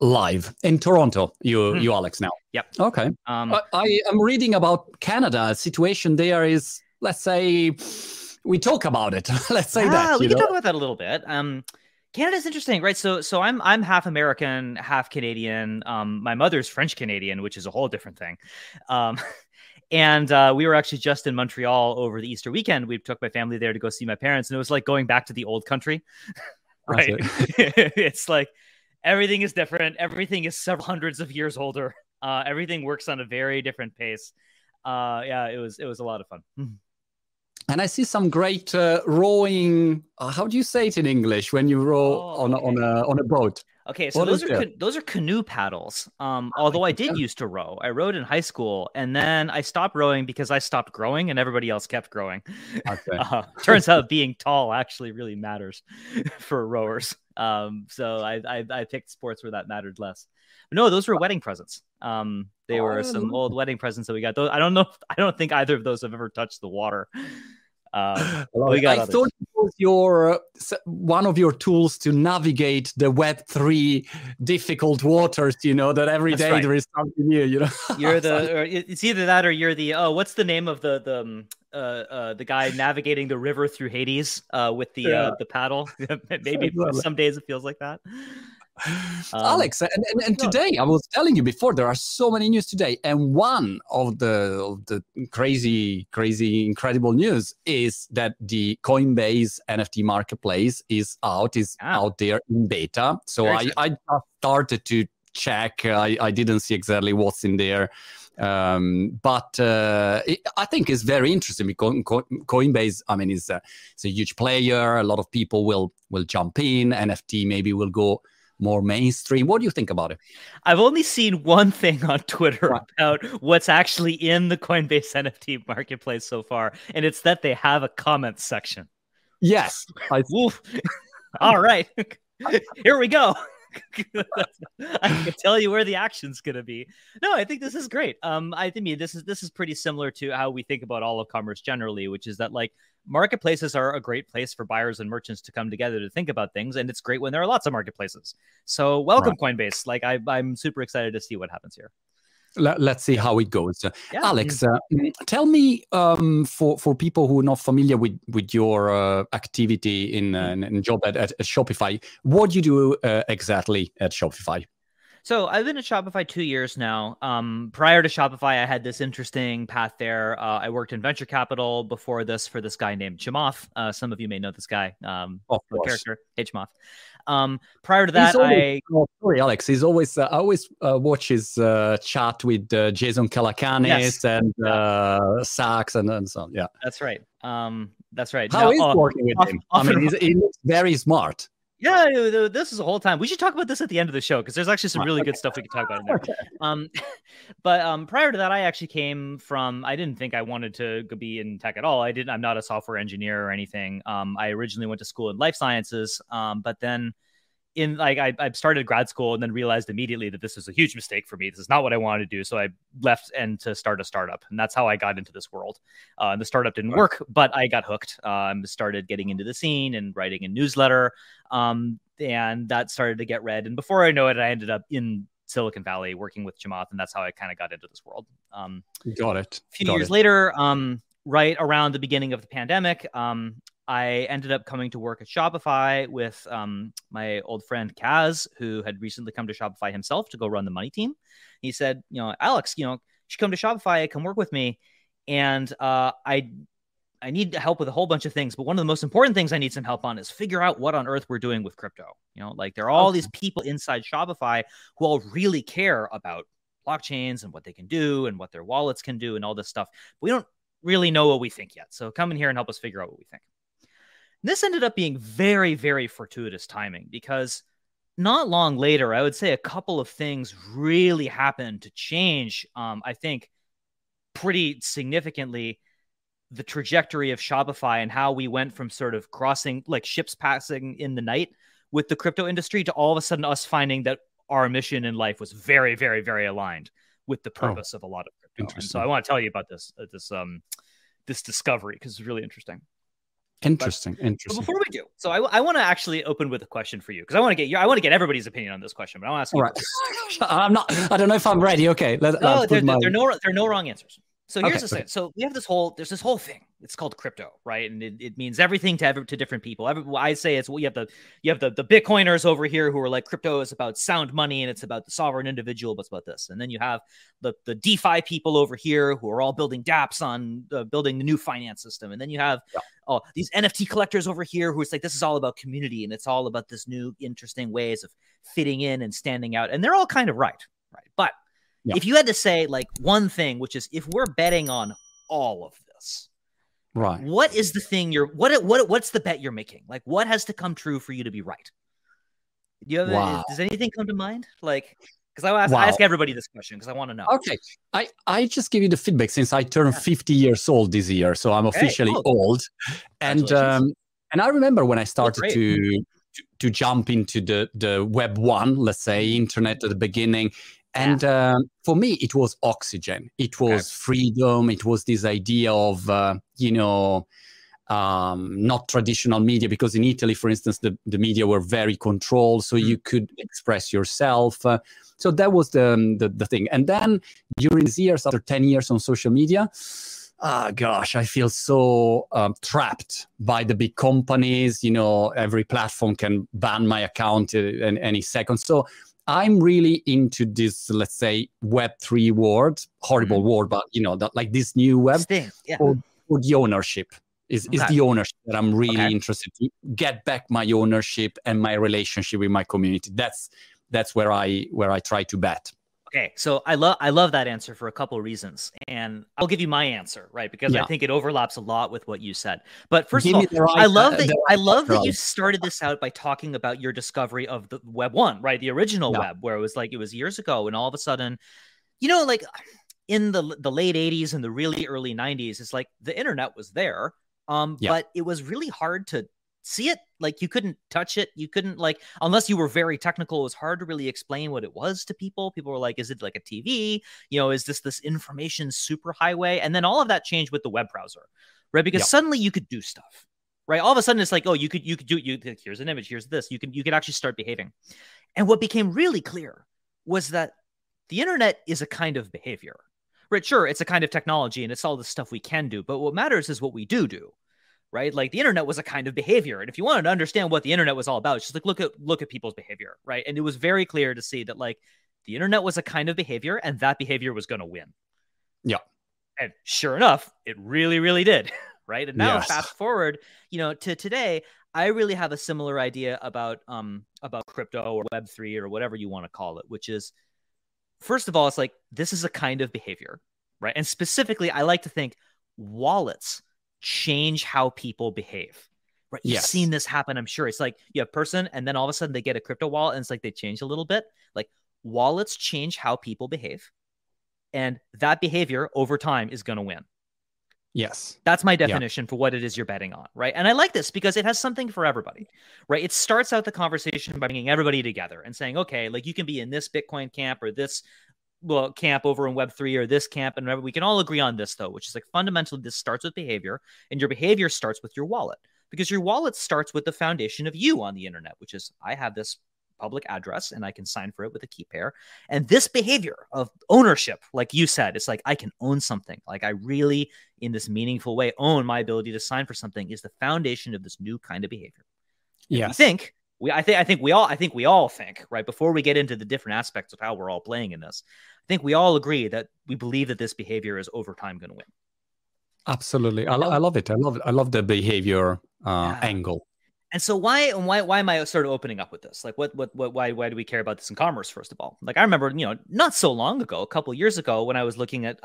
live in Toronto. You Alex now. Yep. Okay. I am reading about Canada. A situation there is, let's say, we talk about it. Let's say that we can talk about that a little bit. Canada's interesting, right? So I'm half American, half Canadian. My mother's French Canadian, which is a whole different thing. And we were actually just in Montreal over the Easter weekend. We took my family there to go see my parents, and it was like going back to the old country, right? It's like everything is different. Everything is several hundreds of years older. Everything works on a very different pace. Yeah, it was a lot of fun. And I see some great rowing. How do you say it in English when you row on a boat? Okay, so those are canoe paddles. Although I did used to row. I rowed in high school, and then I stopped rowing because I stopped growing, and everybody else kept growing. Okay. Turns out being tall actually really matters for rowers. So I picked sports where that mattered less. But no, those were wedding presents. They were some old wedding presents that we got. Those I don't think either of those have ever touched the water. I thought it was one of your tools to navigate the Web3 difficult waters. That every day there is something new. You're it's either that or you're the what's the name of the guy navigating the river through Hades with the paddle? Maybe some days it feels like that. Alex, and today I was telling you before, there are so many news today, and one of the crazy incredible news is that the Coinbase NFT marketplace is out there in beta. So I just started to check. I didn't see exactly what's in there. But I think it's very interesting because Coinbase, I mean, it's a huge player. A lot of people will jump in. NFT maybe will go more mainstream. What do you think about it? I've only seen one thing on Twitter about what's actually in the Coinbase NFT marketplace so far, and it's that they have a comment section. Yes. All right. Here we go. I can tell you where the action's going to be. No, I think this is great. I think this is pretty similar to how we think about all of commerce generally, which is that like marketplaces are a great place for buyers and merchants to come together to think about things, and it's great when there are lots of marketplaces. So welcome, Coinbase. Like I'm super excited to see what happens here. Let's see how it goes. Alex, tell me, for people who are not familiar with your activity in job at Shopify, what do you do exactly at Shopify? So I've been at Shopify 2 years now. Prior to Shopify, I had this interesting path there. I worked in venture capital before this for this guy named Chamath. Some of you may know this guy, character, Chamath. Prior to that, sorry, Alex. He's always I always watch his chat with Jason Calacanis and Sachs and so on. Yeah, that's right. That's right. How is working with him? I mean, he looks very smart. Yeah, this is a whole time. We should talk about this at the end of the show because there's actually some really good stuff we can talk about in there. But prior to that, I actually came from. I didn't think I wanted to be in tech at all. I'm not a software engineer or anything. I originally went to school in life sciences, but then I started grad school and then realized immediately that this was a huge mistake for me. This is not what I wanted to do. So I left and to start a startup. And that's how I got into this world. The startup didn't work, but I got hooked. Started getting into the scene and writing a newsletter. And that started to get read. And before I know it, I ended up in Silicon Valley working with Chamath. And that's how I kind of got into this world. Got it. A few years later, right around the beginning of the pandemic, I ended up coming to work at Shopify with my old friend Kaz, who had recently come to Shopify himself to go run the money team. He said, Alex, you should come to Shopify, come work with me. And I need help with a whole bunch of things. But one of the most important things I need some help on is figure out what on earth we're doing with crypto. There are all these people inside Shopify who all really care about blockchains and what they can do and what their wallets can do and all this stuff. But we don't really know what we think yet. So come in here and help us figure out what we think. This ended up being very, very fortuitous timing because not long later, I would say a couple of things really happened to change, I think, pretty significantly the trajectory of Shopify and how we went from sort of crossing like ships passing in the night with the crypto industry to all of a sudden us finding that our mission in life was very, very, very aligned with the purpose of a lot of crypto. And so I want to tell you about this discovery because it's really interesting. Interesting. But before we do, so I want to actually open with a question for you, because I want to get everybody's opinion on this question. But I want to ask you. All right. I don't know if I'm ready. Okay. There are no wrong answers. So here's the thing. So we have there's this whole thing. It's called crypto, right? And it means everything to different people. I say it's you have the Bitcoiners over here who are like, crypto is about sound money and it's about the sovereign individual, but it's about this. And then you have the DeFi people over here who are all building dApps on building the new finance system. And then you have these NFT collectors over here who it's like, this is all about community and it's all about this new interesting ways of fitting in and standing out. And they're all kind of right? But if you had to say like one thing, which is, if we're betting on all of this, right, what is the thing what's the bet you're making? Like, what has to come true for you to be right? Do you have does anything come to mind? Like, because I ask everybody this question because I want to know. Okay, I just give you the feedback since I turned 50 years old this year, so I'm officially old, and I remember when I started to jump into the Web 1, let's say, internet at the beginning. And for me, it was oxygen. It was freedom. It was this idea of, not traditional media, because in Italy, for instance, the media were very controlled, so you could express yourself. So that was the thing. And then during these years, after 10 years on social media, I feel so trapped by the big companies. Every platform can ban my account in any second. So I'm really into this, let's say, Web3 world, horrible word, but like this new web for the ownership is the ownership that I'm really interested to get back my ownership and my relationship with my community. That's where I try to bet. Okay, so I love that answer for a couple of reasons, and I'll give you my answer, right? Because I think it overlaps a lot with what you said. But first of all, I love that you started this out by talking about your discovery of the Web 1, right? The original web, where it was years ago, and all of a sudden, like in the late 80s and the really early 90s, it's like the internet was there, but it was really hard to see it. Like, you couldn't touch it. You couldn't, like, unless you were very technical, it was hard to really explain what it was to people. People were like, is it like a TV? Is this information superhighway? And then all of that changed with the web browser, right? Because suddenly you could do stuff, right? All of a sudden it's like, oh, you could do, here's an image, here's this. You could actually start behaving. And what became really clear was that the internet is a kind of behavior, right? Sure, it's a kind of technology and it's all the stuff we can do, but what matters is what we do. Right? Like, the internet was a kind of behavior. And if you wanted to understand what the internet was all about, just like look at people's behavior, right? And it was very clear to see that, like, the internet was a kind of behavior and that behavior was going to win. Yeah. And sure enough, it really, really did. Right. And now fast forward, to today, I really have a similar idea about crypto or Web3 or whatever you want to call it, which is, first of all, it's like, this is a kind of behavior, right? And specifically, I like to think wallets change how people behave, right? You've seen this happen, I'm sure. It's like you have a person and then all of a sudden they get a crypto wallet and it's like they change a little bit. Like, wallets change how people behave, and that behavior over time is going to win. Yes. That's my definition for what it is you're betting on, right? And I like this because it has something for everybody, right? It starts out the conversation by bringing everybody together and saying, okay, like, you can be in this Bitcoin camp or this camp over in Web3 or this camp. And remember, we can all agree on this, though, which is like, fundamentally, this starts with behavior, and your behavior starts with your wallet, because your wallet starts with the foundation of you on the internet, which is, I have this public address and I can sign for it with a key pair. And this behavior of ownership, like you said, it's like, I can own something. Like, I really, in this meaningful way, own my ability to sign for something, is the foundation of this new kind of behavior. Yeah. I think we all think, right, before we get into the different aspects of how we're all playing in this, I think we all agree that we believe that this behavior is over time going to win. Absolutely. I love it. I love the behavior angle. And so why am I sort of opening up with this? Like, why do we care about this in commerce, first of all? Like, I remember, not so long ago, a couple of years ago, when I was looking at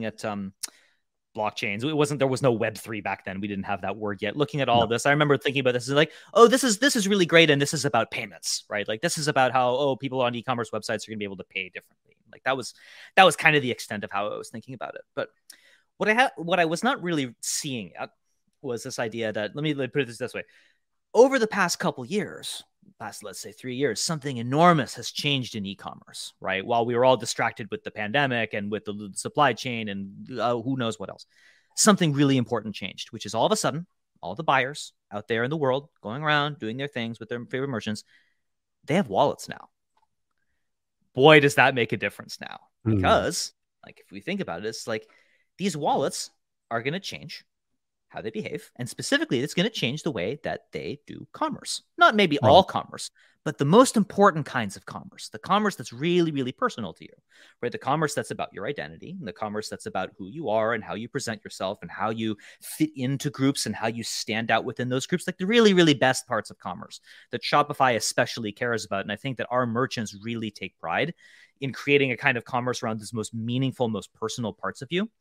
blockchains. There was no Web3 back then. We didn't have that word yet. Looking at all of this, I remember thinking about this as like, oh, this is really great, and this is about payments, right? Like, this is about how people on e-commerce websites are going to be able to pay differently. Like, that was kind of the extent of how I was thinking about it. But what I was not really seeing yet was this idea that, let me put it this way: over the past couple years, let's say 3 years, something enormous has changed in e-commerce, right? While we were all distracted with the pandemic and with the supply chain and who knows what else, something really important changed, which is, all of a sudden, all the buyers out there in the world going around doing their things with their favorite merchants, they have wallets now. Boy, does that make a difference now. Because, like, if we think about it, it's like these wallets are going to change how they behave. And specifically, it's going to change the way that they do commerce. Not maybe all commerce, but the most important kinds of commerce. The commerce that's really, really personal to you, right? The commerce that's about your identity, and the commerce that's about who you are and how you present yourself and how you fit into groups and how you stand out within those groups. Like the really, really best parts of commerce that Shopify especially cares about. And I think that our merchants really take pride in creating a kind of commerce around these most meaningful, most personal parts of you.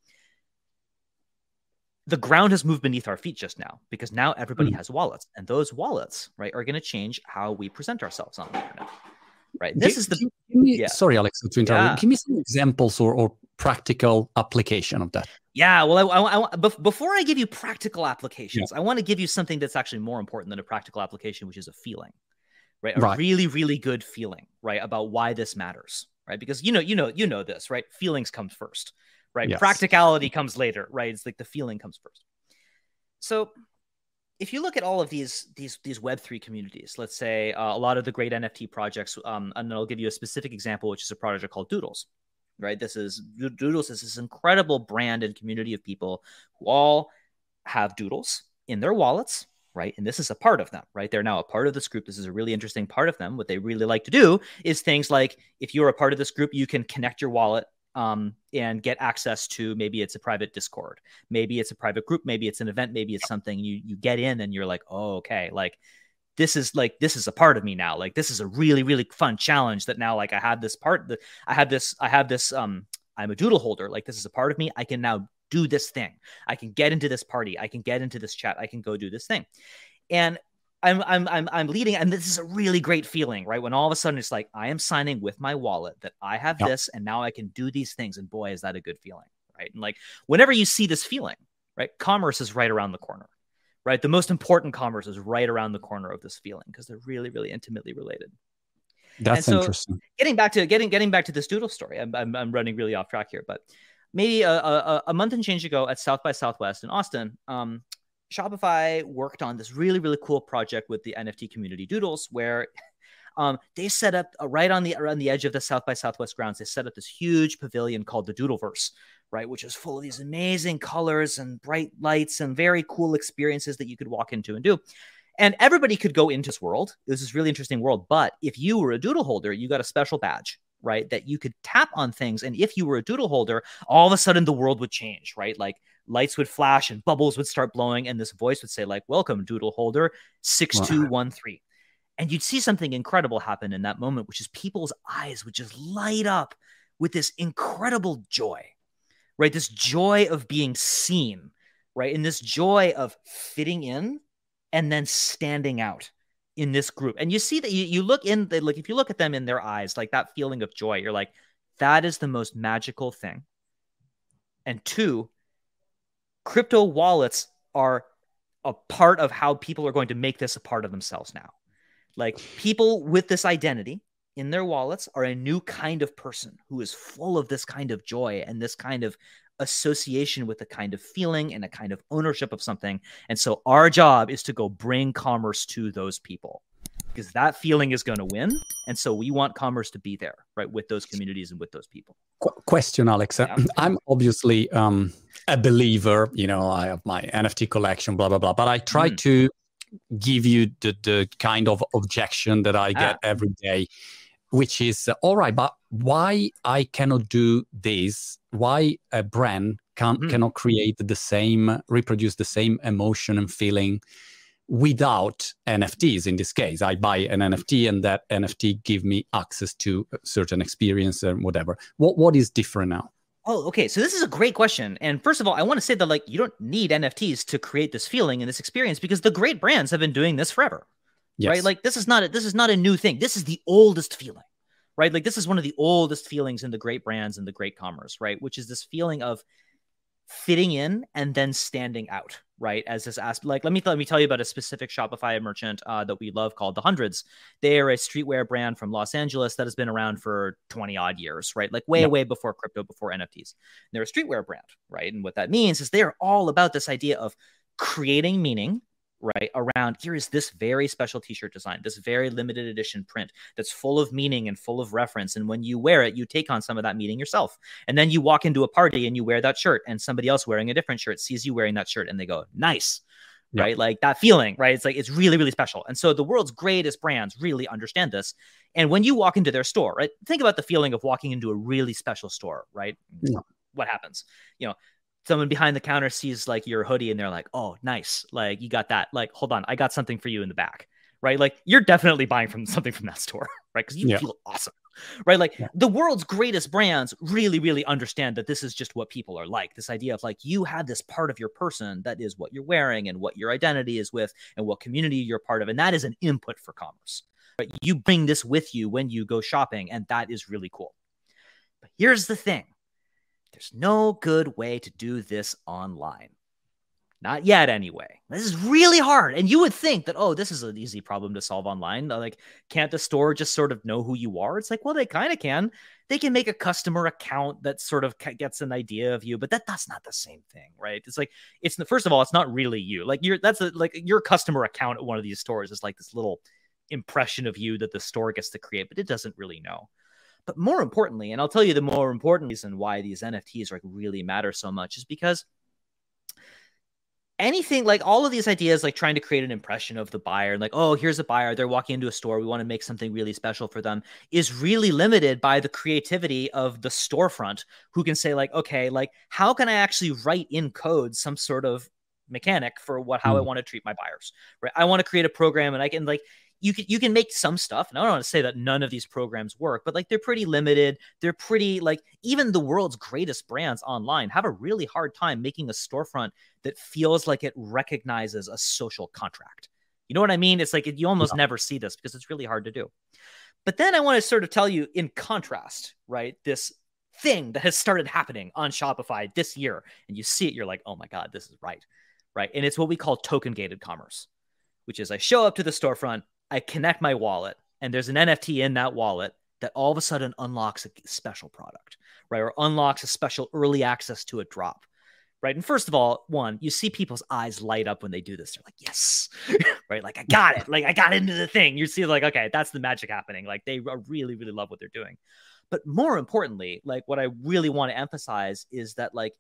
The ground has moved beneath our feet just now because now everybody has wallets, and those wallets, right, are going to change how we present ourselves on the internet, right? Sorry, Alex, to interrupt. Give me some examples or practical application of that. Yeah, well, I before I give you practical applications, I want to give you something that's actually more important than a practical application, which is a feeling, right? A really, really good feeling, right, about why this matters, right? Because you know this, right? Feelings come first. Right. Yes. Practicality comes later. Right. It's like the feeling comes first. So if you look at all of these Web3 communities, let's say a lot of the great NFT projects, and I'll give you a specific example, which is a project called Doodles. Right. Doodles is this incredible brand and community of people who all have doodles in their wallets. Right. And this is a part of them. Right. They're now a part of this group. This is a really interesting part of them. What they really like to do is things like if you're a part of this group, you can connect your wallet and get access to, maybe it's a private Discord, maybe it's a private group, maybe it's an event, maybe it's something you get in and you're like, oh, okay, like this is a part of me now. Like this is a really, really fun challenge that now, like I have this part that I have this, I'm a doodle holder. Like this is a part of me. I can now do this thing. I can get into this party. I can get into this chat. I can go do this thing. And I'm leading, and this is a really great feeling, right? When all of a sudden it's like I am signing with my wallet that I have this, and now I can do these things, and boy, is that a good feeling, right? And like whenever you see this feeling, right, commerce is right around the corner, right? The most important commerce is right around the corner of this feeling because they're really, really intimately related. That's interesting. Getting back to this doodle story, I'm running really off track here, but maybe a month and change ago at South by Southwest in Austin, Shopify worked on this really, really cool project with the NFT community Doodles, where they set up right around the edge of the South by Southwest grounds. They set up this huge pavilion called the Doodleverse, right, which is full of these amazing colors and bright lights and very cool experiences that you could walk into and do. And everybody could go into this world. It was this really interesting world. But if you were a doodle holder, you got a special badge, right, that you could tap on things. And if you were a doodle holder, all of a sudden the world would change, right? Like lights would flash and bubbles would start blowing. And this voice would say like, welcome, doodle holder 6213. And you'd see something incredible happen in that moment, which is people's eyes would just light up with this incredible joy, right? This joy of being seen, right? And this joy of fitting in and then standing out in this group. And you see that you look in, like if you look at them in their eyes, like that feeling of joy, you're like, that is the most magical thing. And two, crypto wallets are a part of how people are going to make this a part of themselves now. Like people with this identity in their wallets are a new kind of person who is full of this kind of joy and this kind of association with a kind of feeling and a kind of ownership of something. And so our job is to go bring commerce to those people because that feeling is going to win. And so we want commerce to be there, right, with those communities and with those people. Question, Alex. Yeah. I'm obviously a believer, I have my NFT collection, blah, blah, blah, but I try to give you the kind of objection that I get every day, which is, all right, but why I cannot do this? Why a brand cannot reproduce the same emotion and feeling without NFTs? In this case, I buy an NFT and that NFT give me access to a certain experience and whatever. What is different now? Oh, okay. So this is a great question. And first of all, I want to say that you don't need NFTs to create this feeling and this experience because the great brands have been doing this forever, right? Like this is not a new thing. This is the oldest feeling, right? Like this is one of the oldest feelings in the great brands and the great commerce, right? Which is this feeling of fitting in and then standing out, right? As this aspect, like let me tell you about a specific Shopify merchant that we love called The Hundreds. They are a streetwear brand from Los Angeles that has been around for 20 odd years, right? Like way before crypto, before NFTs. And they're a streetwear brand, right? And what that means is they're all about this idea of creating meaning, right, around here is this very special t-shirt design, this very limited edition print that's full of meaning and full of reference. And when you wear it, you take on some of that meaning yourself. And then you walk into a party and you wear that shirt, and somebody else wearing a different shirt sees you wearing that shirt and they go, nice. Yeah. Right? Like that feeling, right? It's like, it's really, really special. And so the world's greatest brands really understand this. And when you walk into their store, right, think about the feeling of walking into a really special store, right? Yeah. What happens? You know, someone behind the counter sees like your hoodie and they're like, oh, nice. Like you got that. Like, hold on, I got something for you in the back, right? Like you're definitely buying something from that store, right? Because you feel awesome, right? Like the world's greatest brands really, really understand that this is just what people are like. This idea of like, you have this part of your person that is what you're wearing and what your identity is with and what community you're part of. And that is an input for commerce, right? You bring this with you when you go shopping, and that is really cool. But here's the thing. There's no good way to do this online. Not yet, anyway. This is really hard. And you would think that, oh, this is an easy problem to solve online. Like, can't the store just sort of know who you are? It's like, well, they kind of can. They can make a customer account that sort of gets an idea of you, but that's not the same thing, right? It's like, first of all, it's not really you. Like, your customer account at one of these stores is like this little impression of you that the store gets to create, but it doesn't really know. But more importantly, and I'll tell you the more important reason why these NFTs like really matter so much is because anything like all of these ideas, like trying to create an impression of the buyer, like, oh, here's a buyer, they're walking into a store, we want to make something really special for them, is really limited by the creativity of the storefront, who can say like, okay, like how can I actually write in code some sort of mechanic for how I want to treat my buyers, right? I want to create a program, and I can like, you can make some stuff. And I don't want to say that none of these programs work, but like they're pretty limited. They're pretty like, even the world's greatest brands online have a really hard time making a storefront that feels like it recognizes a social contract. You know what I mean? It's like you almost never see this because it's really hard to do. But then I want to sort of tell you in contrast, right, this thing that has started happening on Shopify this year, and you see it, you're like, oh my God, this is right. And it's what we call token gated commerce, which is I show up to the storefront, I connect my wallet, and there's an NFT in that wallet that all of a sudden unlocks a special product, right? Or unlocks a special early access to a drop, right? And first of all, you see people's eyes light up when they do this. They're like, yes, right? Like, I got it. Like, I got into the thing. You see like, okay, that's the magic happening. Like, they really, really love what they're doing. But more importantly, like what I really want to emphasize is that like,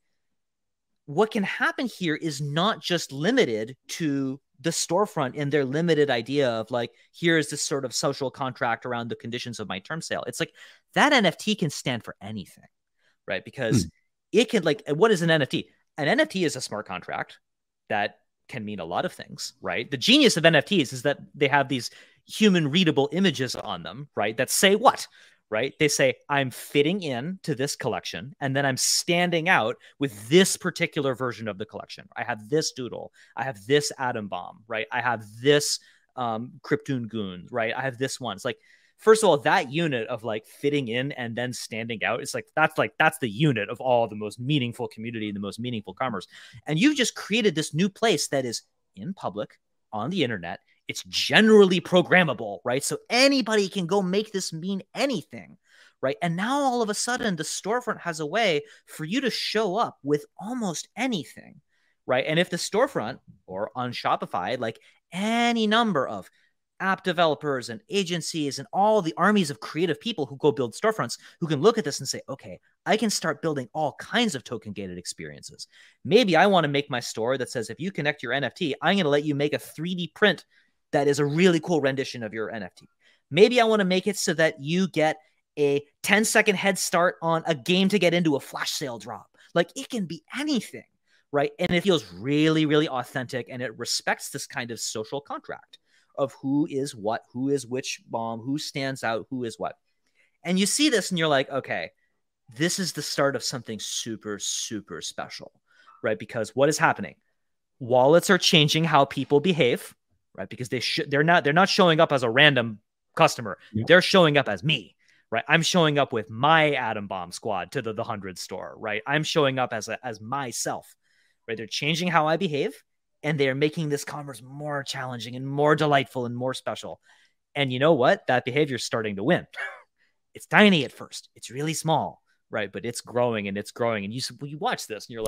what can happen here is not just limited to the storefront and their limited idea of like, here's this sort of social contract around the conditions of my term sale. It's like that NFT can stand for anything, right? Because it can like, what is an NFT? An NFT is a smart contract that can mean a lot of things, right? The genius of NFTs is that they have these human readable images on them, right? That say what? Right? They say, I'm fitting in to this collection, and then I'm standing out with this particular version of the collection. I have this doodle. I have this atom bomb, right? I have this Krypton goon, right? I have this one. It's like, first of all, that unit of like fitting in and then standing out, it's like, that's the unit of all the most meaningful community, the most meaningful commerce. And you've just created this new place that is in public on the internet. It's generally programmable, right? So anybody can go make this mean anything, right? And now all of a sudden, the storefront has a way for you to show up with almost anything, right? And if the storefront or on Shopify, like any number of app developers and agencies and all the armies of creative people who go build storefronts, who can look at this and say, okay, I can start building all kinds of token gated experiences. Maybe I want to make my store that says, if you connect your NFT, I'm going to let you make a 3D print that is a really cool rendition of your NFT. Maybe I want to make it so that you get a 10-second head start on a game to get into a flash sale drop. Like, it can be anything, right? And it feels really, really authentic, and it respects this kind of social contract of who is what, who is which bomb, who stands out, who is what. And you see this and you're like, okay, this is the start of something super, super special, right? Because what is happening? Wallets are changing how people behave, right? Because they're not showing up as a random customer. Yep. They're showing up as me, right? I'm showing up with my Atom Bomb squad to the 100 store, right? I'm showing up as myself, right? They're changing how I behave, and they're making this commerce more challenging and more delightful and more special. And you know what? That behavior is starting to win. It's tiny at first. It's really small, right? But it's growing and it's growing. And you watch this and you're like,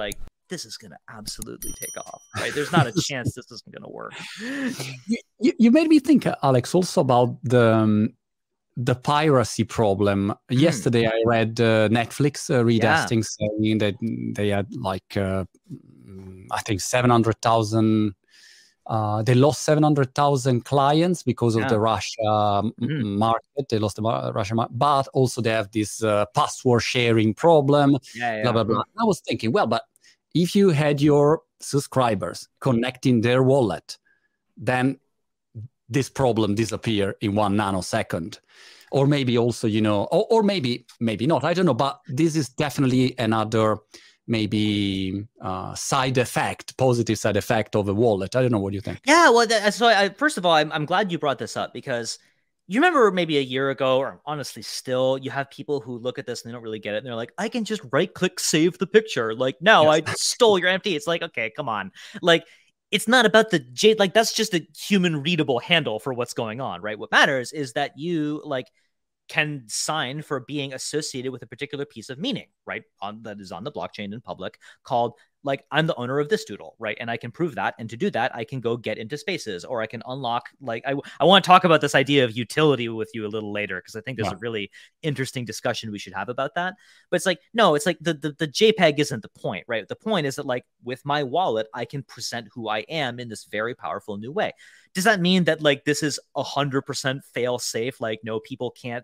this is going to absolutely take off, right? There's not a chance this isn't going to work. You made me think, Alex, also about the piracy problem. Yesterday, I read Netflix redusting, saying that they had like, I think 700,000. They lost 700,000 clients because of the Russia market. They lost the Russia market, but also they have this password sharing problem. Blah blah blah. I was thinking, well, but if you had your subscribers connecting their wallet, then this problem disappear in 1 nanosecond. Or maybe also, you know, or maybe not. I don't know. But this is definitely another maybe positive side effect of a wallet. I don't know. What do you think? Yeah, well, first of all, I'm glad you brought this up, because you remember maybe a year ago, or honestly still, you have people who look at this and they don't really get it. And they're like, I can just right click, save the picture. Like, no, I stole your NFT. It's like, okay, come on. Like, it's not about the like, that's just a human readable handle for what's going on, right? What matters is that you like can sign for being associated with a particular piece of meaning, right? That is on the blockchain in public, called like, I'm the owner of this doodle, right? And I can prove that. And to do that, I can go get into spaces, or I can unlock, like, I want to talk about this idea of utility with you a little later, because I think there's a really interesting discussion we should have about that. But it's like, no, it's like the JPEG isn't the point, right? The point is that, like, with my wallet, I can present who I am in this very powerful new way. Does that mean that, like, this is 100% fail safe? Like, no, people can't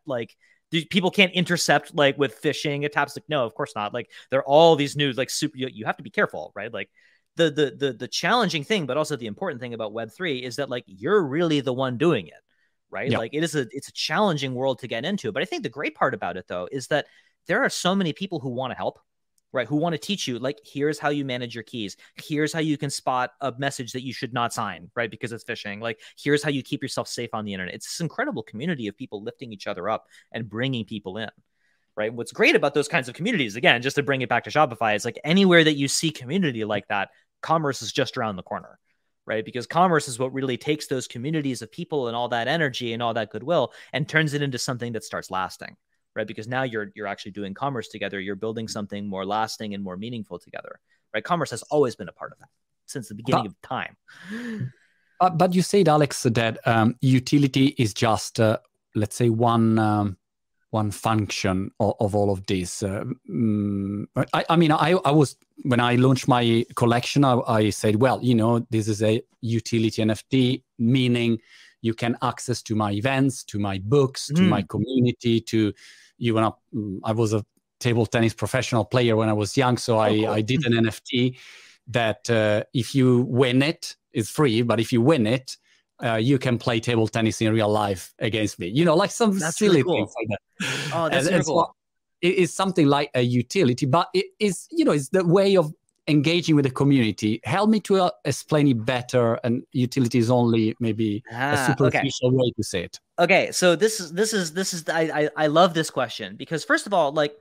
intercept, like, with phishing attacks? Like, no, of course not. Like, there are all these new, like, you have to be careful, right? Like, the challenging thing, but also the important thing about Web3 is that, like, you're really the one doing it, right? Like, it's a challenging world to get into. But I think the great part about it, though, is that there are so many people who want to help, right? Who want to teach you, like, here's how you manage your keys. Here's how you can spot a message that you should not sign, right? Because it's phishing. Like, here's how you keep yourself safe on the internet. It's this incredible community of people lifting each other up and bringing people in, right? What's great about those kinds of communities, again, just to bring it back to Shopify, is like, anywhere that you see community like that, commerce is just around the corner, right? Because commerce is what really takes those communities of people and all that energy and all that goodwill and turns it into something that starts lasting. Right, because now you're actually doing commerce together. You're building something more lasting and more meaningful together. Right, commerce has always been a part of that since the beginning of time. But you said, Alex, that utility is just, let's say, one function of all of this. I mean, I was, when I launched my collection, I said, well, you know, this is a utility NFT, meaning you can access to my events, to my books, to my community, to I was a table tennis professional player when I was young, so I did an NFT that if you win it, it's free, but if you win it, you can play table tennis in real life against me. You know, like some silly things like that. Oh, that's really cool. So it is something like a utility, but it is, you know, it's the way of engaging with the community. Help me to explain it better. And utility is only maybe a superficial way to say it. Okay, so this is I love this question, because first of all, like,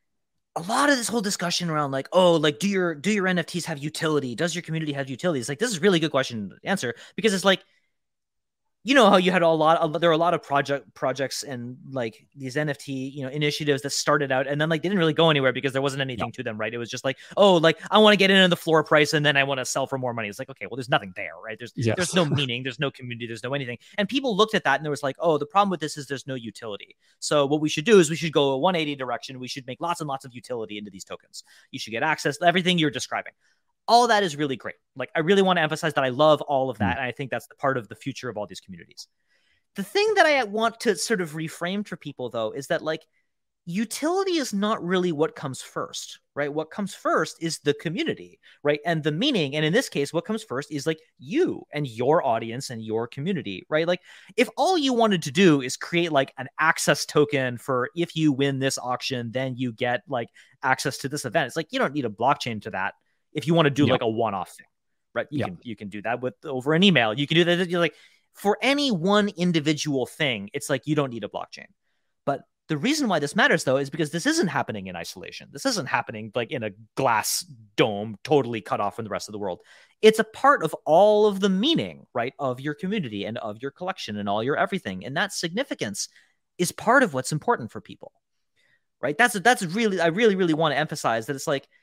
a lot of this whole discussion around, like, oh, like, do your NFTs have utility? Does your community have utility? It's like, this is a really good question to answer, because it's like, you know how you had there are a lot of projects and like these NFT, you know, initiatives that started out and then like they didn't really go anywhere because there wasn't anything to them, right? It was just like, oh, like, I want to get in on the floor price and then I want to sell for more money. It's like, okay, well, there's nothing there, right? There's no meaning, there's no community, there's no anything. And people looked at that and there was like, oh, the problem with this is there's no utility. So what we should do is we should go a 180 direction. We should make lots and lots of utility into these tokens. You should get access to everything you're describing. All that is really great. Like, I really want to emphasize that I love all of that. And I think that's the part of the future of all these communities. The thing that I want to sort of reframe for people, though, is that, like, utility is not really what comes first, right? What comes first is the community, right? And the meaning. And in this case, what comes first is like you and your audience and your community, right? Like, if all you wanted to do is create like an access token for if you win this auction, then you get like access to this event. It's like, you don't need a blockchain to that. If you want to do like a one-off thing, right? You can do that with over an email. You can do that. You're like, for any one individual thing, it's like, you don't need a blockchain. But the reason why this matters, though, is because this isn't happening in isolation. This isn't happening like in a glass dome, totally cut off from the rest of the world. It's a part of all of the meaning, right, of your community and of your collection and all your everything. And that significance is part of what's important for people, right? That's really, I really, really want to emphasize that it's like,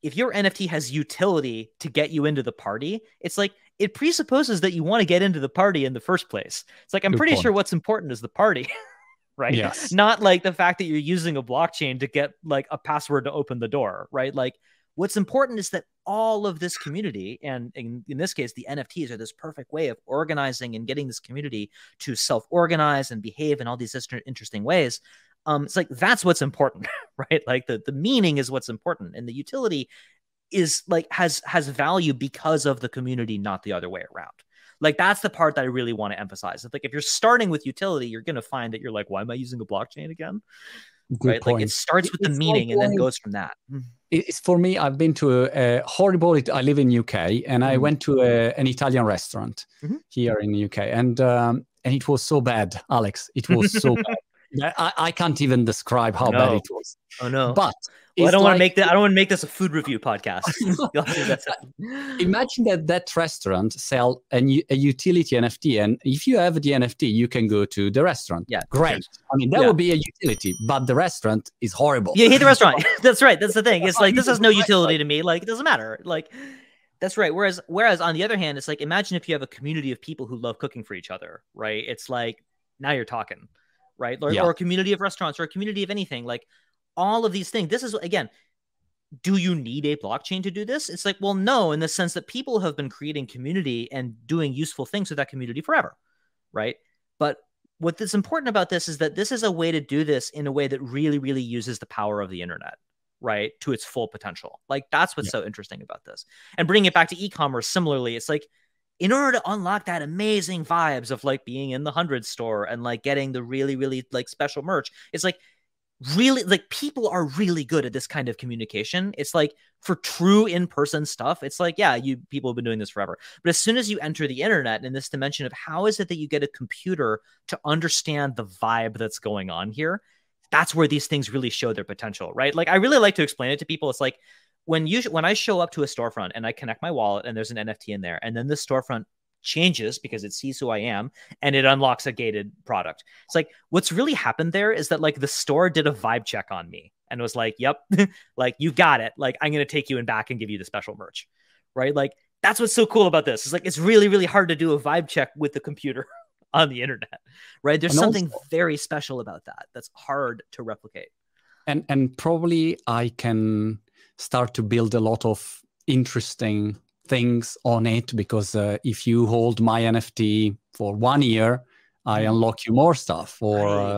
if your NFT has utility to get you into the party, it's like it presupposes that you want to get into the party in the first place. It's like, I'm pretty sure what's important is the party, right? Yes. Not like the fact that you're using a blockchain to get like a password to open the door, right? Like what's important is that all of this community, and in this case, the NFTs are this perfect way of organizing and getting this community to self-organize and behave in all these interesting ways. It's like, that's what's important, right? Like the meaning is what's important, and the utility is like has value because of the community, not the other way around. Like that's the part that I really want to emphasize. It's like if you're starting with utility, you're going to find that you're like, why am I using a blockchain again? Good right? point. Like it starts with the meaning and then goes from that. It's for me, I've been to a horrible, I live in UK, and I went to an Italian restaurant here in the UK, and it was so bad, Alex. It was so bad. I can't even describe how bad it was. Oh no! But I don't want to make that. I don't want to make this a food review podcast. Imagine that restaurant sell a utility NFT, and if you have the NFT, you can go to the restaurant. Yeah, great. I mean, that would be a utility, but the restaurant is horrible. Yeah, you hate the restaurant. That's right. That's the thing. It's like this has no utility to me. Like it doesn't matter. Like that's right. Whereas on the other hand, it's like imagine if you have a community of people who love cooking for each other, right? It's like now you're talking. Right. Or a community of restaurants or a community of anything, like all of these things. This is, again, do you need a blockchain to do this? It's like, well, no, in the sense that people have been creating community and doing useful things with that community forever. Right. But what's important about this is that this is a way to do this in a way that really, really uses the power of the internet, right, to its full potential. Like that's what's so interesting about this. And bringing it back to e-commerce, similarly, it's like, in order to unlock that amazing vibes of like being in the 100 store and like getting the really, really like special merch, it's like really like people are really good at this kind of communication. It's like for true in-person stuff, it's like, yeah, people have been doing this forever. But as soon as you enter the internet in this dimension of how is it that you get a computer to understand the vibe that's going on here, that's where these things really show their potential, right? Like I really like to explain it to people. It's like, when I show up to a storefront and I connect my wallet and there's an NFT in there, and then the storefront changes because it sees who I am and it unlocks a gated product. It's like what's really happened there is that like the store did a vibe check on me and was like, yep, like you got it. Like I'm going to take you in back and give you the special merch, right? Like that's what's so cool about this. It's like it's really, really hard to do a vibe check with the computer on the internet, right? There's something very special about that that's hard to replicate. And probably I can start to build a lot of interesting things on it because if you hold my NFT for 1 year, I unlock you more stuff, or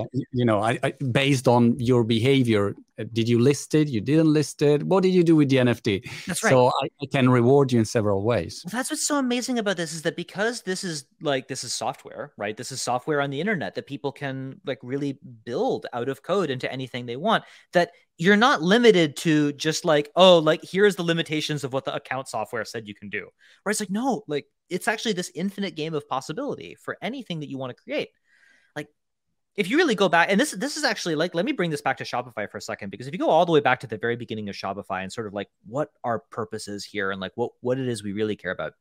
I based on your behavior. Did you list it? You didn't list it. What did you do with the NFT? That's right. So I can reward you in several ways. Well, that's what's so amazing about this is that because this is software, right? This is software on the internet that people can like really build out of code into anything they want. That you're not limited to just like, oh, like here's the limitations of what the account software said you can do. Where it's like, no, like it's actually this infinite game of possibility for anything that you want to create. Like if you really go back, and this is actually like, let me bring this back to Shopify for a second, because if you go all the way back to the very beginning of Shopify and sort of like what our purpose is here and like what it is we really care about,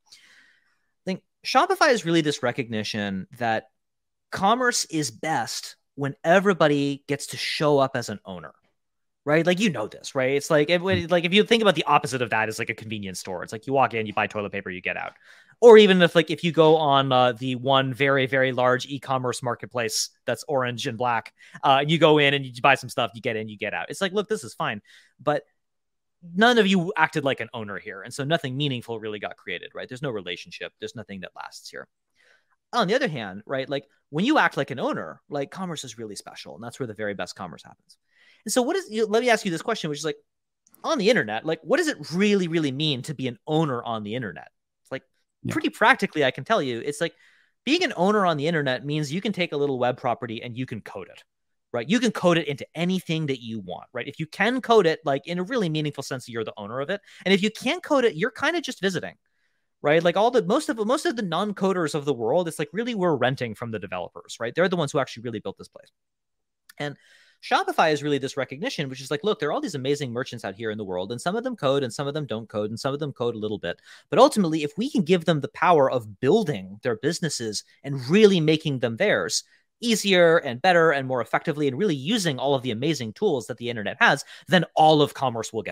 I think Shopify is really this recognition that commerce is best when everybody gets to show up as an owner. Right? Like, you know this, right? It's like, if you think about the opposite of that is like a convenience store. It's like you walk in, you buy toilet paper, you get out. Or even if you go on the one very, very large e-commerce marketplace that's orange and black, you go in and you buy some stuff, you get in, you get out. It's like, look, this is fine. But none of you acted like an owner here. And so nothing meaningful really got created, right? There's no relationship. There's nothing that lasts here. On the other hand, right, like when you act like an owner, like commerce is really special. And that's where the very best commerce happens. And so let me ask you this question, which is like, on the internet, like what does it really, really mean to be an owner on the internet? It's like pretty practically, I can tell you, it's like being an owner on the internet means you can take a little web property and you can code it, right? You can code it into anything that you want, right? If you can code it, like in a really meaningful sense, you're the owner of it. And if you can't code it, you're kind of just visiting, right? Like most of the non-coders of the world, it's like really we're renting from the developers, right? They're the ones who actually really built this place. And Shopify is really this recognition, which is like, look, there are all these amazing merchants out here in the world, and some of them code and some of them don't code and some of them code a little bit. But ultimately, if we can give them the power of building their businesses and really making them theirs easier and better and more effectively and really using all of the amazing tools that the internet has, then all of commerce will get better.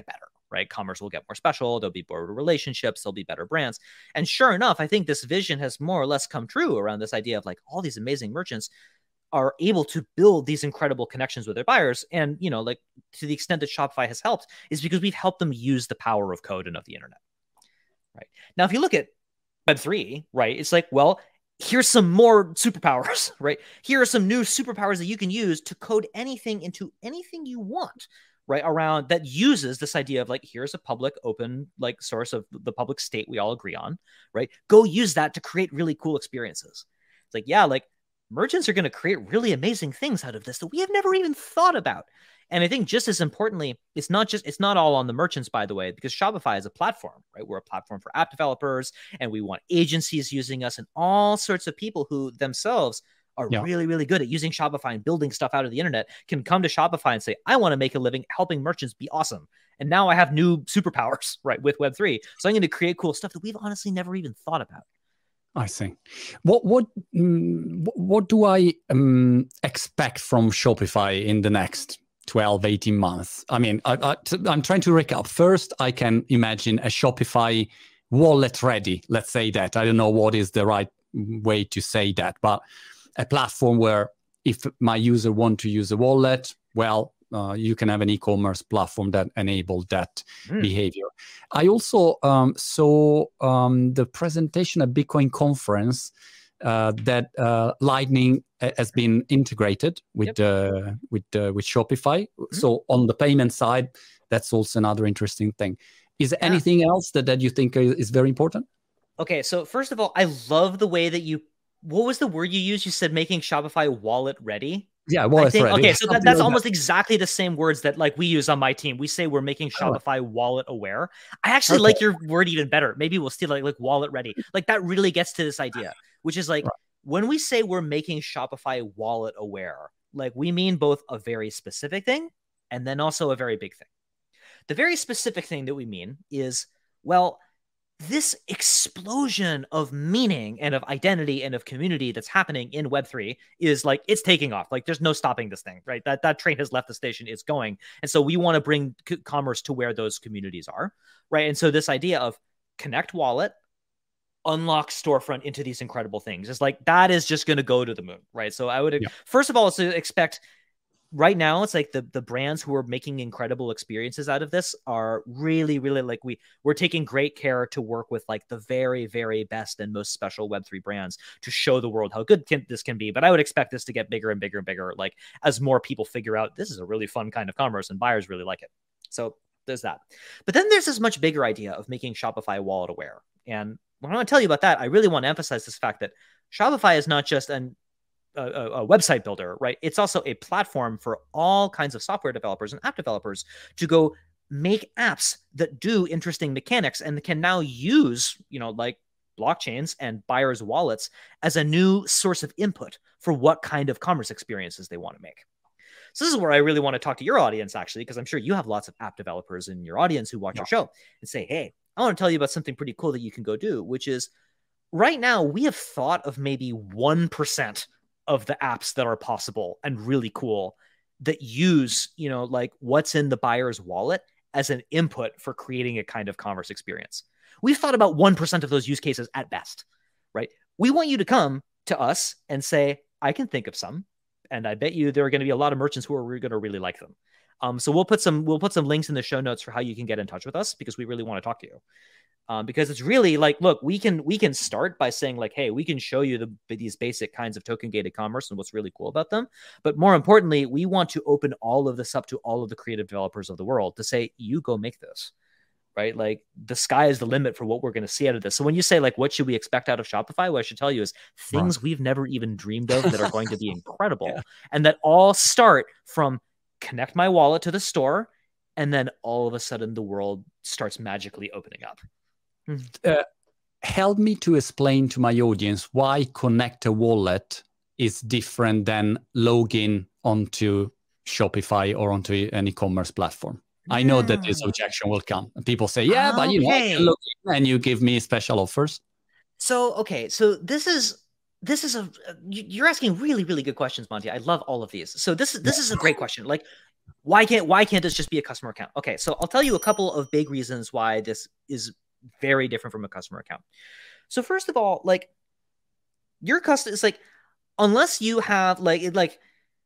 right? Commerce will get more special. There'll be more relationships. There'll be better brands. And sure enough, I think this vision has more or less come true around this idea of like all these amazing merchants are able to build these incredible connections with their buyers. And, you know, like to the extent that Shopify has helped is because we've helped them use the power of code and of the internet. Right. Now, if you look at Web3, right, it's like, well, here's some more superpowers, right? Here are some new superpowers that you can use to code anything into anything you want, right? Around that uses this idea of like, here's a public open like source of the public state we all agree on, right? Go use that to create really cool experiences. It's like, yeah, like merchants are going to create really amazing things out of this that we have never even thought about. And I think just as importantly, it's not all on the merchants, by the way, because Shopify is a platform, right? We're a platform for app developers, and we want agencies using us and all sorts of people who themselves are really, really good at using Shopify and building stuff out of the internet can come to Shopify and say, I want to make a living helping merchants be awesome. And now I have new superpowers, right, with Web3. So I'm going to create cool stuff that we've honestly never even thought about. I see. What do I expect from Shopify in the next 12, 18 months? I mean, I'm trying to recap. First, I can imagine a Shopify wallet ready. Let's say that. I don't know what is the right way to say that, but a platform where if my user want to use a wallet, well, you can have an e-commerce platform that enables that behavior. I also saw the presentation at Bitcoin conference that Lightning has been integrated with Shopify. So on the payment side, that's also another interesting thing. Is there anything else that you think is very important? Okay, so first of all, I love the way that what was the word you used? You said making Shopify wallet ready. Yeah, wallet ready. Okay, so that's almost exactly the same words that like we use on my team. We say we're making Shopify wallet aware. I actually like your word even better. Maybe we'll steal like wallet ready. Like that really gets to this idea, which is like when we say we're making Shopify wallet aware, like we mean both a very specific thing and then also a very big thing. The very specific thing that we mean is, well, this explosion of meaning and of identity and of community that's happening in Web3 is like, it's taking off. Like there's no stopping this thing, right? That train has left the station, it's going. And so we want to bring commerce to where those communities are, right? And so this idea of connect wallet, unlock storefront into these incredible things is like, that is just going to go to the moon, right? So I would, first of all, expect right now, it's like the brands who are making incredible experiences out of this are really, really like we're taking great care to work with like the very, very best and most special Web3 brands to show the world how good this can be. But I would expect this to get bigger and bigger and bigger, like as more people figure out this is a really fun kind of commerce and buyers really like it. So there's that. But then there's this much bigger idea of making Shopify wallet aware. And when I want to tell you about that, I really want to emphasize this fact that Shopify is not just a website builder, right? It's also a platform for all kinds of software developers and app developers to go make apps that do interesting mechanics and can now use, like blockchains and buyers' wallets as a new source of input for what kind of commerce experiences they want to make. So this is where I really want to talk to your audience, actually, because I'm sure you have lots of app developers in your audience who watch your show and say, hey, I want to tell you about something pretty cool that you can go do, which is right now we have thought of maybe 1% of the apps that are possible and really cool that use, like what's in the buyer's wallet as an input for creating a kind of commerce experience. We've thought about 1% of those use cases at best, right? We want you to come to us and say, I can think of some, and I bet you there are going to be a lot of merchants who are going to really like them. So we'll put some links in the show notes for how you can get in touch with us because we really want to talk to you. Because it's really like, look, we can start by saying like, hey, we can show you these basic kinds of token gated commerce and what's really cool about them. But more importantly, we want to open all of this up to all of the creative developers of the world to say, you go make this, right? Like the sky is the limit for what we're going to see out of this. So when you say like, what should we expect out of Shopify? What I should tell you is things we've never even dreamed of that are going to be incredible. And that all start from connect my wallet to the store. And then all of a sudden the world starts magically opening up. Help me to explain to my audience why connect a wallet is different than login onto Shopify or onto an e-commerce platform. I know that this objection will come. People say, I can log in and you give me special offers. So this is you're asking really, really good questions, Monty. I love all of these. So this is a great question. Like Why can't this just be a customer account? Okay, so I'll tell you a couple of big reasons why this is very different from a customer account. So first of all, like your custom is like, unless you have like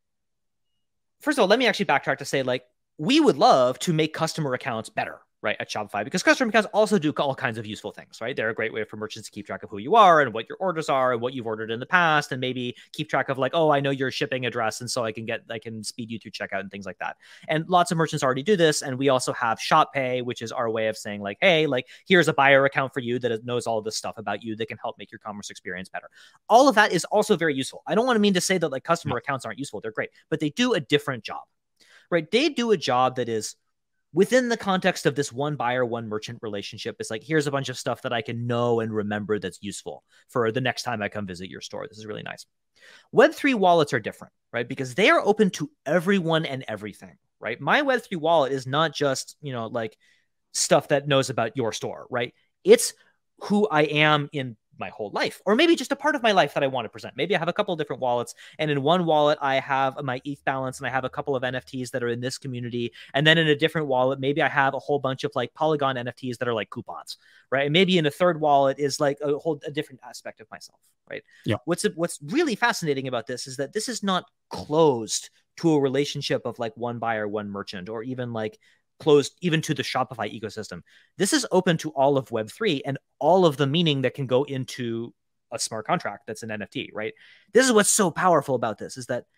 first of all, let me actually backtrack to say, like, we would love to make customer accounts better, right, at Shopify, because customer accounts also do all kinds of useful things, right? They're a great way for merchants to keep track of who you are and what your orders are and what you've ordered in the past, and maybe keep track of like, oh, I know your shipping address, and so I can speed you through checkout and things like that. And lots of merchants already do this, and we also have Shop Pay, which is our way of saying like, hey, like here's a buyer account for you that knows all of this stuff about you that can help make your commerce experience better. All of that is also very useful. I don't want to mean to say that like customer accounts aren't useful. They're great, but they do a different job. Right? They do a job that is within the context of this one buyer, one merchant relationship. It's like, here's a bunch of stuff that I can know and remember that's useful for the next time I come visit your store. This is really nice. Web3 wallets are different, right? Because they are open to everyone and everything, right? My Web3 wallet is not just, like stuff that knows about your store, right? It's who I am in my whole life, or maybe just a part of my life that I want to present. Maybe I have a couple of different wallets, and in one wallet I have my ETH balance and I have a couple of NFTs that are in this community, and then in a different wallet maybe I have a whole bunch of like Polygon NFTs that are like coupons, right? And maybe in a third wallet is like a different aspect of myself, right? Yeah. What's really fascinating about this is that this is not closed to a relationship of like one buyer, one merchant, or even like closed even to the Shopify ecosystem. This is open to all of Web3 and all of the meaning that can go into a smart contract that's an NFT, right? This is what's so powerful about this, is that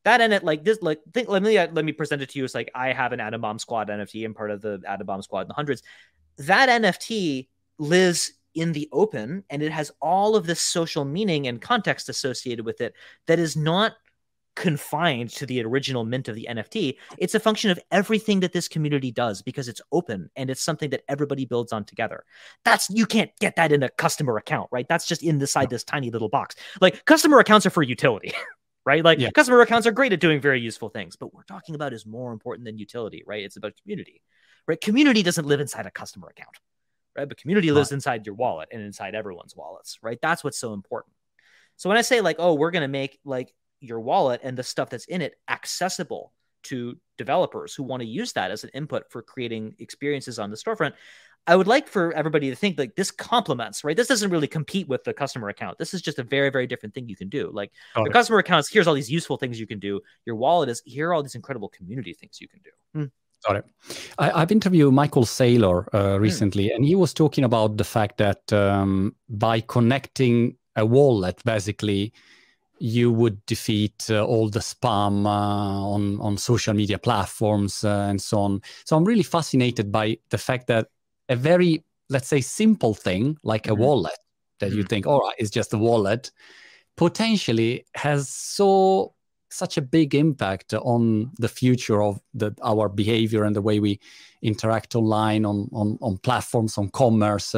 let me present it to you as like, I have an Atom Bomb Squad NFT. I'm part of the Atom Bomb Squad in the hundreds. That NFT lives in the open, and it has all of this social meaning and context associated with it that is not confined to the original mint of the NFT. It's a function of everything that this community does because it's open and it's something that everybody builds on together. You can't get that in a customer account, right? That's just inside this tiny little box. Like, customer accounts are for utility, right? Like, customer accounts are great at doing very useful things, but what we're talking about is more important than utility, right? It's about community, right? Community doesn't live inside a customer account, right? But community lives inside your wallet and inside everyone's wallets, right? That's what's so important. So when I say like, oh, we're going to make like your wallet and the stuff that's in it accessible to developers who want to use that as an input for creating experiences on the storefront, I would like for everybody to think like this complements, right? This doesn't really compete with the customer account. This is just a very, very different thing you can do. Like the customer accounts, here's all these useful things you can do. Your wallet is, here are all these incredible community things you can do. Got it. I've interviewed Michael Saylor recently, and he was talking about the fact that by connecting a wallet, basically, you would defeat all the spam on social media platforms and so on. So I'm really fascinated by the fact that a very, let's say, simple thing like a wallet that you think, all right, it's just a wallet, potentially has such a big impact on the future of our behavior and the way we interact online on platforms, on commerce.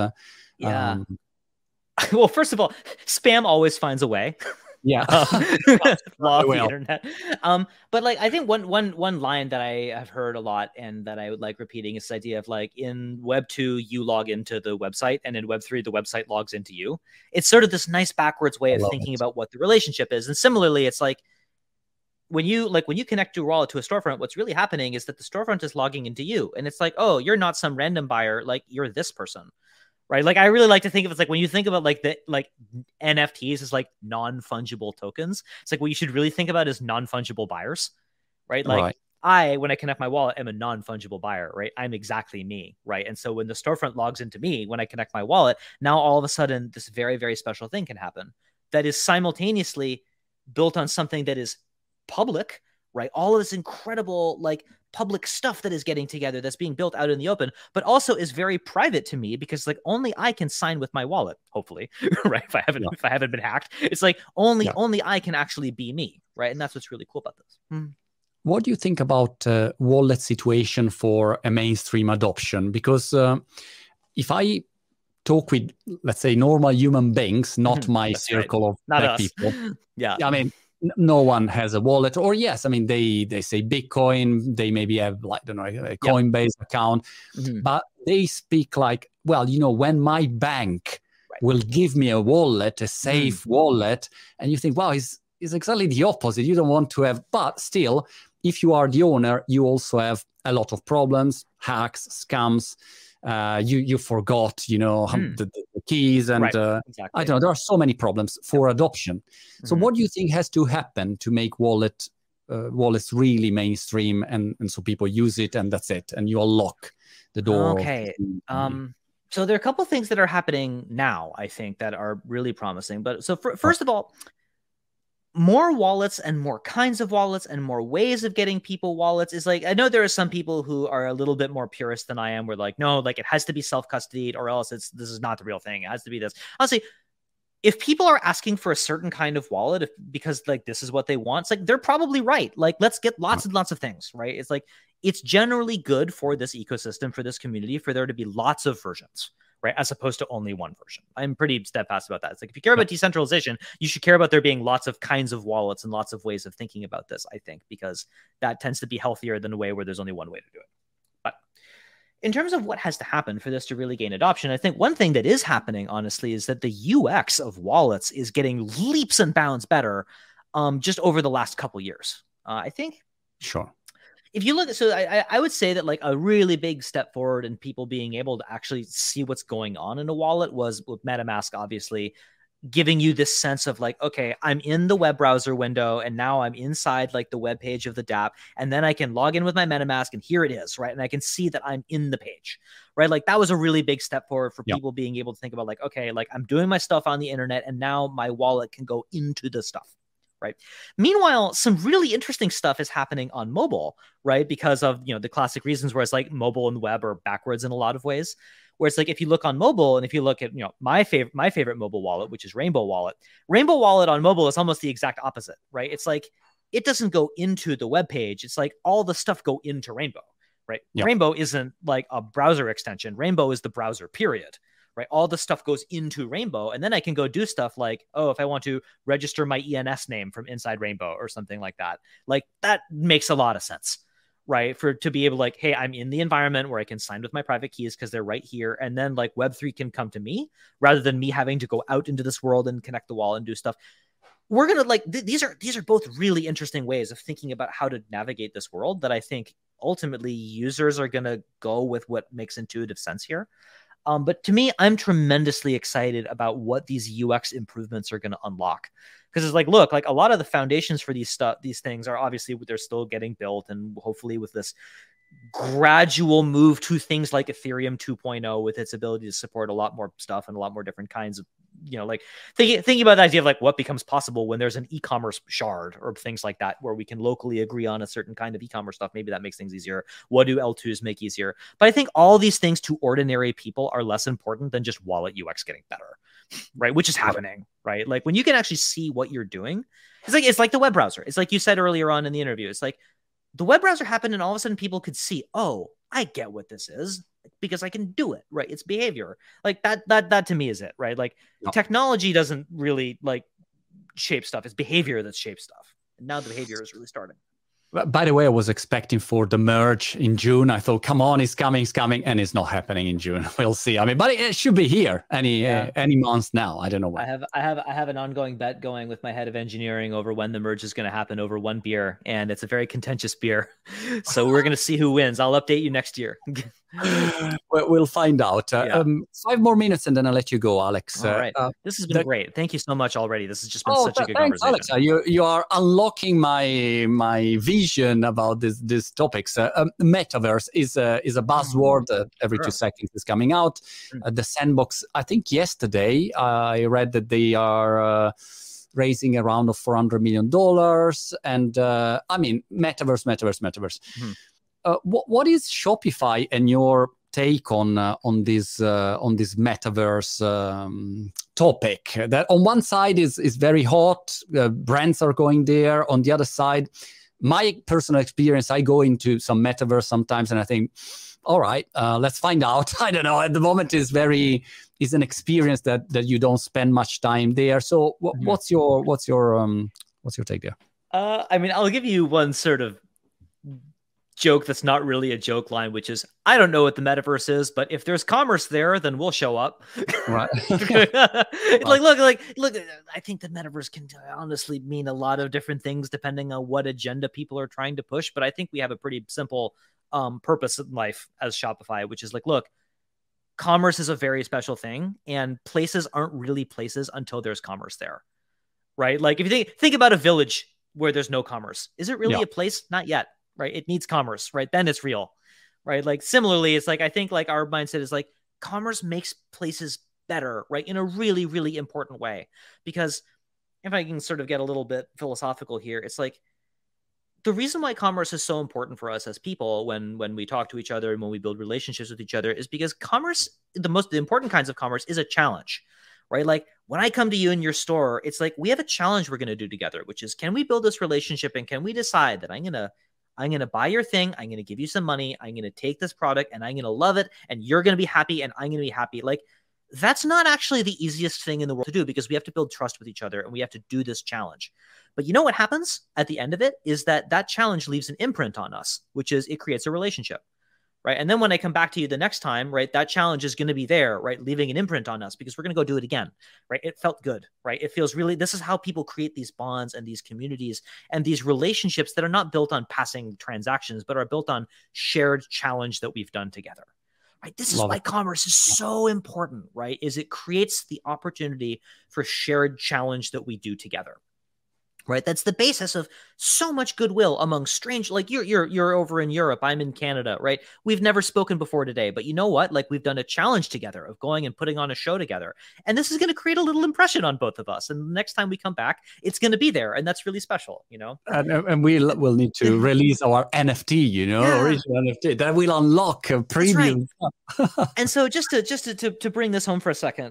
Well, first of all, spam always finds a way. Yeah. Law of the internet. But like, I think one line that I have heard a lot and that I would like repeating is this idea of like, in Web 2, you log into the website, and in Web 3, the website logs into you. It's sort of this nice backwards way of thinking about what the relationship is. And similarly, it's like, when you connect your wallet to a storefront, what's really happening is that the storefront is logging into you. And it's like, oh, you're not some random buyer, like you're this person. Right. Like, I really like to think of it as like, when you think about like the NFTs as like non-fungible tokens, it's like what you should really think about is non-fungible buyers. Right. Like when I connect my wallet, I'm a non-fungible buyer. Right. I'm exactly me. Right. And so when the storefront logs into me, when I connect my wallet, now all of a sudden this very, very special thing can happen that is simultaneously built on something that is public. Right. All of this incredible like public stuff that is getting together, that's being built out in the open, but also is very private to me because like only I can sign with my wallet, hopefully, right? If I haven't been hacked, it's like only I can actually be me, right? And that's what's really cool about this. What do you think about wallet situation for a mainstream adoption? Because if I talk with, let's say, normal human beings, not my circle of tech people, I mean, no one has a wallet, or yes, I mean, they say Bitcoin, they maybe have like, I don't know, a Coinbase account, but they speak like, well, when my bank will give me a wallet, a safe wallet, and you think, wow, it's exactly the opposite. You don't want to have, but still, if you are the owner, you also have a lot of problems, hacks, scams. You forgot, the keys, and exactly. I don't know. There are so many problems for adoption. So what do you think has to happen to make wallets really mainstream, and so people use it, and that's it, and you unlock the door? Okay. So there are a couple of things that are happening now, I think, that are really promising. But so first of all, more wallets and more kinds of wallets and more ways of getting people wallets is like, I know there are some people who are a little bit more purist than I am. We're like, no, like it has to be self-custodied or else this is not the real thing. It has to be this. Honestly, if people are asking for a certain kind of wallet because like this is what they want, it's like they're probably right. Like, let's get lots and lots of things, right? It's like, it's generally good for this ecosystem, for this community, for there to be lots of versions, right? As opposed to only one version. I'm pretty steadfast about that. It's like, if you care about decentralization, you should care about there being lots of kinds of wallets and lots of ways of thinking about this, I think, because that tends to be healthier than a way where there's only one way to do it. But in terms of what has to happen for this to really gain adoption, I think one thing that is happening, honestly, is that the UX of wallets is getting leaps and bounds better just over the last couple years. I think. Sure. If you look at, so I would say that like a really big step forward in people being able to actually see what's going on in a wallet was with MetaMask, obviously, giving you this sense of like, okay, I'm in the web browser window and now I'm inside like the web page of the dApp, and then I can log in with my MetaMask and here it is, right? And I can see that I'm in the page, right? Like that was a really big step forward for people being able to think about like, okay, like I'm doing my stuff on the internet and now my wallet can go into the stuff. Right. Meanwhile, some really interesting stuff is happening on mobile, right? Because of, the classic reasons where it's like mobile and web are backwards in a lot of ways. Where it's like, if you look on mobile and if you look at, my favorite mobile wallet, which is Rainbow Wallet on mobile is almost the exact opposite, right? It's like, it doesn't go into the web page. It's like all the stuff go into Rainbow, right? Yep. Rainbow isn't like a browser extension. Rainbow is the browser, period. Right, all the stuff goes into Rainbow, and then I can go do stuff like, if I want to register my ENS name from inside Rainbow or something like that. Like that makes a lot of sense, right? To be able to like, hey, I'm in the environment where I can sign with my private keys because they're right here, and then like Web3 can come to me rather than me having to go out into this world and connect the wall and do stuff. We're gonna like these are both really interesting ways of thinking about how to navigate this world that I think ultimately users are gonna go with what makes intuitive sense here. But to me, I'm tremendously excited about what these UX improvements are going to unlock. Because it's like, look, like a lot of the foundations for these things are obviously they're still getting built, and hopefully with this gradual move to things like Ethereum 2.0 with its ability to support a lot more stuff and a lot more different kinds of, like thinking about the idea of like what becomes possible when there's an e-commerce shard or things like that, where we can locally agree on a certain kind of e-commerce stuff. Maybe that makes things easier. What do L2s make easier? But I think all these things to ordinary people are less important than just wallet UX getting better, right? Which is happening, right? Like when you can actually see what you're doing, it's like the web browser. It's like you said earlier on in the interview. It's like, the web browser happened and all of a sudden people could see, oh, I get what this is because I can do it, right? It's behavior. Like that to me is it, right? Like technology doesn't really like shape stuff. It's behavior that shapes stuff. And now the behavior is really starting. By the way, I was expecting for the merge in June. I thought, come on, it's coming, and it's not happening in June. We'll see. I mean, but it should be here any month now. I don't know why. I have an ongoing bet going with my head of engineering over when the merge is going to happen over one beer, and it's a very contentious beer. So we're going to see who wins. I'll update you next year. We'll find out. 5 more minutes and then I'll let you go, Alex. All right. This has been great. Thank you so much already. This has just been such a good conversation. Alex, you are unlocking my vision about these topics. Metaverse is a buzzword. Every 2 seconds is coming out. The Sandbox, I think yesterday I read that they are raising a round of $400 million. And I mean, metaverse. Mm-hmm. What is Shopify and your take on this metaverse topic? That on one side is very hot, brands are going there. On the other side, my personal experience, I go into some metaverse sometimes, and I think, all right, let's find out. I don't know. At the moment, is an experience that you don't spend much time there. So, what's your take there? I mean, I'll give you one sort of joke that's not really a joke line, which is, I don't know what the metaverse is, but if there's commerce there, then we'll show up. Right. Look, I think the metaverse can honestly mean a lot of different things depending on what agenda people are trying to push. But I think we have a pretty simple purpose in life as Shopify, which is like, look, commerce is a very special thing, and places aren't really places until there's commerce there, right? Like if you think about a village where there's no commerce, is it really a place? Not yet. Right. It needs commerce, right? Then it's real, right? Like similarly, it's like, I think like our mindset is like commerce makes places better, right? In a really, really important way. Because if I can sort of get a little bit philosophical here, it's like the reason why commerce is so important for us as people when we talk to each other and when we build relationships with each other is because commerce, the important kinds of commerce is a challenge, right? Like when I come to you in your store, it's like we have a challenge we're going to do together, which is, can we build this relationship and can we decide that I'm going to buy your thing. I'm going to give you some money. I'm going to take this product and I'm going to love it. And you're going to be happy and I'm going to be happy. Like that's not actually the easiest thing in the world to do because we have to build trust with each other and we have to do this challenge. But you know what happens at the end of it is that challenge leaves an imprint on us, which is it creates a relationship. Right. And then when I come back to you the next time, right, that challenge is going to be there, right, leaving an imprint on us because we're going to go do it again. Right. It felt good. Right. It feels really, this is how people create these bonds and these communities and these relationships that are not built on passing transactions, but are built on shared challenge that we've done together. Right. This is why commerce is so important. Right. Is it creates the opportunity for shared challenge that we do together. Right. That's the basis of so much goodwill among strange, like you're over in Europe. I'm in Canada. Right. We've never spoken before today, but you know what? Like we've done a challenge together of going and putting on a show together. And this is going to create a little impression on both of us. And the next time we come back, it's going to be there. And that's really special, you know? And we'll need to release our NFT, original NFT that will unlock a premium. Right. And so just to bring this home for a second,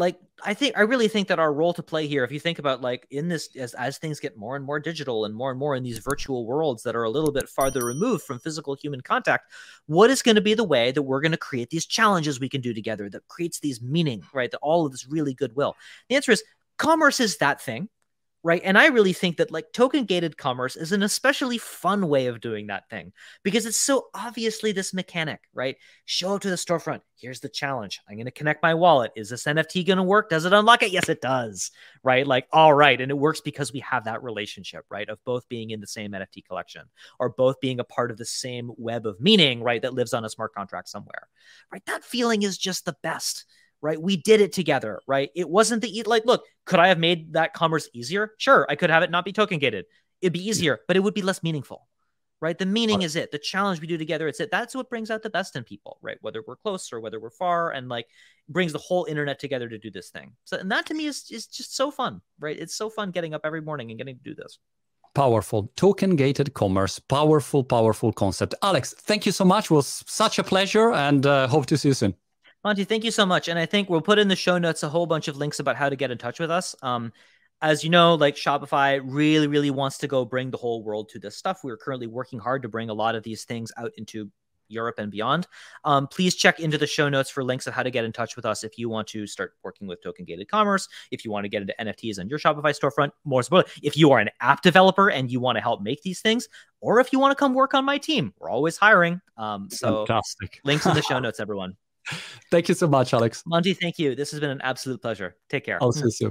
I really think that our role to play here, if you think about like in this, as things get more and more digital and more in these virtual worlds that are a little bit farther removed from physical human contact, what is going to be the way that we're going to create these challenges we can do together that creates these meaning, right? That all of this really goodwill. The answer is commerce is that thing. Right. And I really think that like token gated commerce is an especially fun way of doing that thing because it's so obviously this mechanic, right? Show up to the storefront. Here's the challenge. I'm going to connect my wallet. Is this NFT going to work? Does it unlock it? Yes, it does. Right. Like, all right. And it works because we have that relationship, right? Of both being in the same NFT collection or both being a part of the same web of meaning, right? That lives on a smart contract somewhere, right? That feeling is just the best. Right. We did it together. Right. It wasn't look, could I have made that commerce easier? Sure. I could have it not be token gated. It'd be easier, but it would be less meaningful. Right. The meaning is it. The challenge we do together. It's it. That's what brings out the best in people. Right. Whether we're close or whether we're far and like brings the whole internet together to do this thing. So, and that to me is just so fun. Right. It's so fun getting up every morning and getting to do this. Powerful. Token gated commerce. Powerful concept. Alex, thank you so much. It was such a pleasure and hope to see you soon. Monty, thank you so much. And I think we'll put in the show notes a whole bunch of links about how to get in touch with us. As you know, like Shopify really, really wants to go bring the whole world to this stuff. We're currently working hard to bring a lot of these things out into Europe and beyond. Please check into the show notes for links of how to get in touch with us if you want to start working with token gated commerce, if you want to get into NFTs on your Shopify storefront, more importantly, if you are an app developer and you want to help make these things, or if you want to come work on my team. We're always hiring. So fantastic. Links in the show notes, everyone. Thank you so much, Alex. Monty, thank you. This has been an absolute pleasure. Take care. I'll see you soon.